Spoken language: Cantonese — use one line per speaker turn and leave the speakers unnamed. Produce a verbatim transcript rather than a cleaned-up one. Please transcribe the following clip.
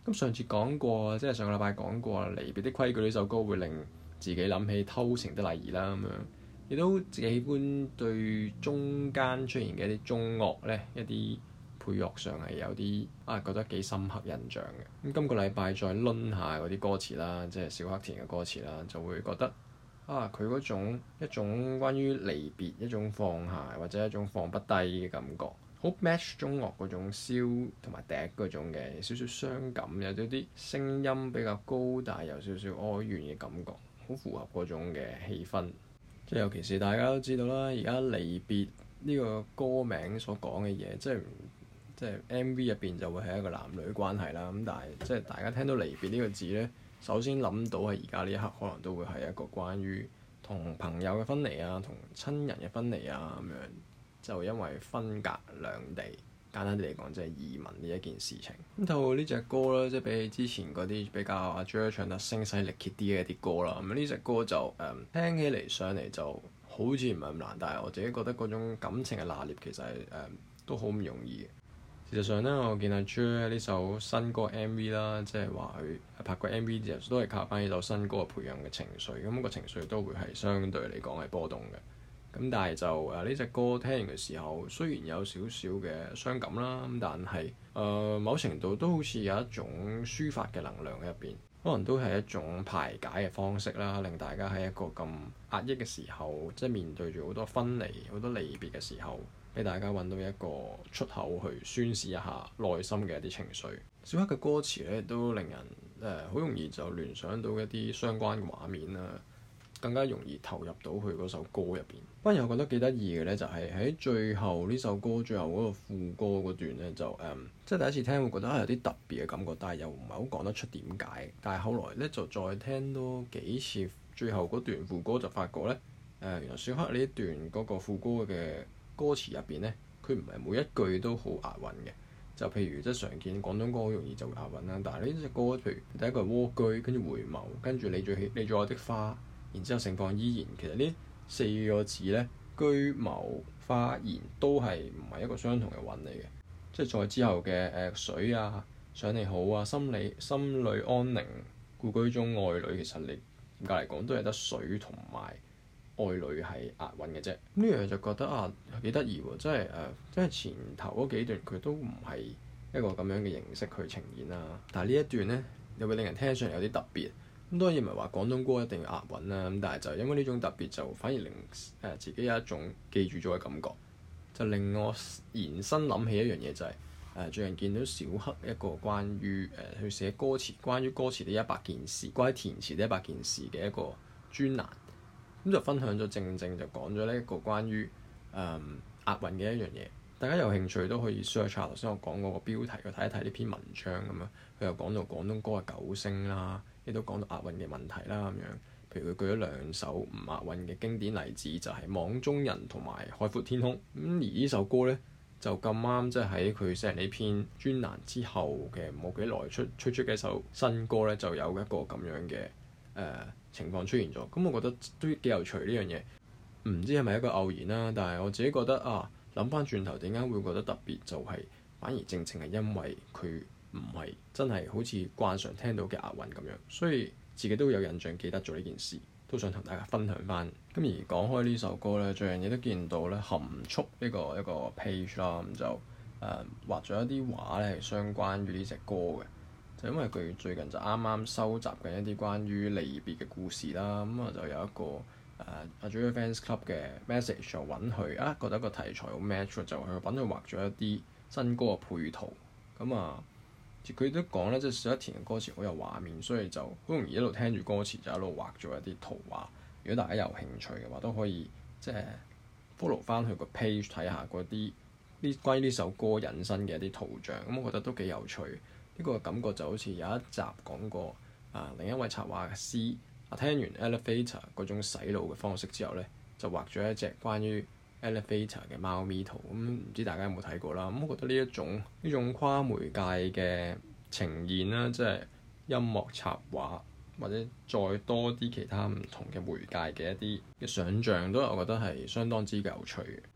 咁上次講過，即係上個禮拜講過《離別的規矩》呢首歌會令自己諗起偷情的禮儀啦，咁樣亦都自己喜歡對中間出現嘅一啲中樂咧，一啲配樂上係有啲啊覺得幾深刻印象嘅。咁今個禮拜再攆下嗰啲歌詞啦，即係小黑田嘅歌詞啦，就會覺得啊佢嗰種一種關於離別、一種放下或者一種放不低嘅感覺，好 match 中樂嗰種簫同埋笛嗰種嘅少少傷感，有啲啲聲音比較高，但係有少少哀怨嘅感覺，好符合嗰種嘅氣氛。即係尤其是大家都知道啦，而家離別呢個歌名所講嘅嘢，即係即係 M V 入邊就會係一個男女關係啦。咁但係即係大家聽到離別呢個字呢，首先諗到係而家呢一刻可能都會係一個關於同朋友嘅分離啊，同親人嘅分離啊咁樣，就因為分隔兩地，簡單啲嚟講即係移民呢一件事情。咁透過呢隻歌咧，即係比起之前嗰啲比較阿 Jer 唱得聲嘶力竭啲嘅一啲歌啦，咁呢隻歌就誒、嗯、聽起嚟上嚟就好似唔係咁難，但係我自己覺得嗰種感情嘅拿捏其實係誒、嗯、都好唔容易嘅。事實上咧，我見阿 Jer 呢首新歌 M V 啦，即係話佢拍個 M V 之後都係靠翻呢首新歌嘅培養嘅情緒，咁、那個情緒都會係相對嚟講係波動嘅。咁但係就誒呢隻歌聽完嘅時候，雖然有少少嘅傷感啦，咁但係誒、呃、某程度都好似有一種抒發嘅能量喺入邊，可能都係一種排解嘅方式啦，令大家喺一個咁壓抑嘅時候，即係面對住好多分離、好多離別嘅時候，俾大家揾到一個出口去宣泄一下內心嘅一啲情緒。小黑嘅歌詞咧都令人誒好、呃、容易就聯想到一啲相關嘅畫面啦。更加容易投入到佢嗰首歌入邊。反而我覺得幾得意嘅咧，就係喺最後呢首歌最後嗰個副歌嗰段咧，就誒、嗯、即係第一次聽會覺得有啲特別嘅感覺，但係又唔係好講得出點解。但係後來咧就再聽多幾次最後嗰段副歌，就發覺咧誒、呃、原來小黑呢一段嗰個副歌嘅歌詞入邊咧，佢唔係每一句都好押韻嘅。就譬如即係常見廣東歌好容易就會押韻啦，但係呢隻歌譬如第一個係蝸居，跟住回眸，跟住你最喜你最愛的花。然之後盛放依然，其實呢四個字呢，居謀花言都係唔係一個相同嘅韻嚟嘅，即係再之後嘅誒、呃、水啊，想你好啊，心裏心裏安寧，故居中愛侶，其實你嚴格嚟講都係得水同埋愛侶係押韻嘅啫。呢樣就覺得啊幾得意喎，即係誒，即係前頭嗰幾段佢都唔係一個咁樣嘅形式去呈現啦，但係呢一段呢，又會令人聽上嚟有啲特別。咁當然唔係話廣東歌一定要押韻啦，咁但係就因為呢種特別，就反而令誒、呃、自己有一種記住咗嘅感覺，就令我延伸諗起一樣嘢，就係、是、誒、呃、最近見到小黑一個關於誒去寫歌詞，關於歌詞的一百件事，關於填詞的一百件事嘅一個專欄，咁就分享咗正正就講咗呢一個關於誒、呃、押韻嘅一樣嘢。大家有興趣都可以 search 下頭先我講嗰個標題去睇一睇呢篇文章咁樣，佢又講到廣東歌嘅九聲啦。亦都講到押韻嘅問題啦，咁樣，譬如佢舉咗兩首唔押韻嘅經典例子，就係、是《網中人》同埋《海闊天空》。咁而呢首歌呢，就咁啱，即係喺佢寫呢篇專欄之後嘅冇幾耐出推出嘅一首新歌呢，就有一個咁樣嘅誒、呃、情況出現咗。咁我覺得都幾有趣呢樣嘢，唔知係咪一個偶然啦？但係我自己覺得啊，諗翻轉頭點解會覺得特別，就係、是、反而正正係因為佢。唔係真係好似慣常聽到嘅押韻咁樣，所以自己都有印象記得咗呢件事，都想同大家分享翻。咁而講開呢首歌咧，最近亦都見到咧含蓄呢、這個一個 page 啦，咁就誒、呃、畫咗一啲畫咧係相關於呢隻歌嘅，就因為佢最近就啱啱收集緊一啲關於離別嘅故事啦，咁啊就有一個誒阿 Jer Fans Club 嘅 message 就揾佢啊，覺得個題材好 match，就去揾佢畫咗一啲新歌嘅配圖，咁啊。佢都講咧，即係小黑田嘅歌詞好有畫面，所以就好容易一路聽住歌詞就一路畫咗一啲圖畫。如果大家有興趣嘅話，都可以即係 follow 翻佢個 page 睇下嗰啲呢關於呢首歌引申嘅一啲圖像。咁我覺得都幾有趣。呢、這個感覺就好似有一集講過啊，另一位插畫師啊，聽完 Elevator 嗰種洗腦嘅方式之後咧，就畫咗一隻關於 Elevator 嘅貓咪圖，咁唔知大家有冇睇過啦？咁我覺得呢一種呢種跨媒介嘅呈現啦，即係音樂插畫或者再多啲其他唔同嘅媒介嘅一啲嘅想像，都我覺得係相當之有趣嘅。